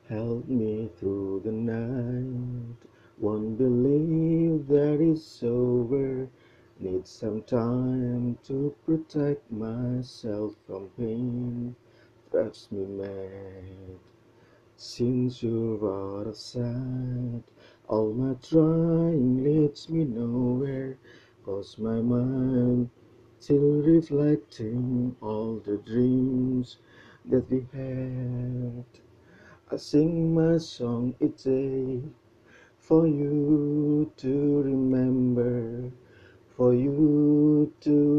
held me through the night. Won't believe that it's over. Need some time to protect myself from pain. Drives me mad. Since you're out of sight, all my trying leads me nowhere. 'Cause my mind still reflecting all the dreams that we had. I sing my song each day for you to remember, for you to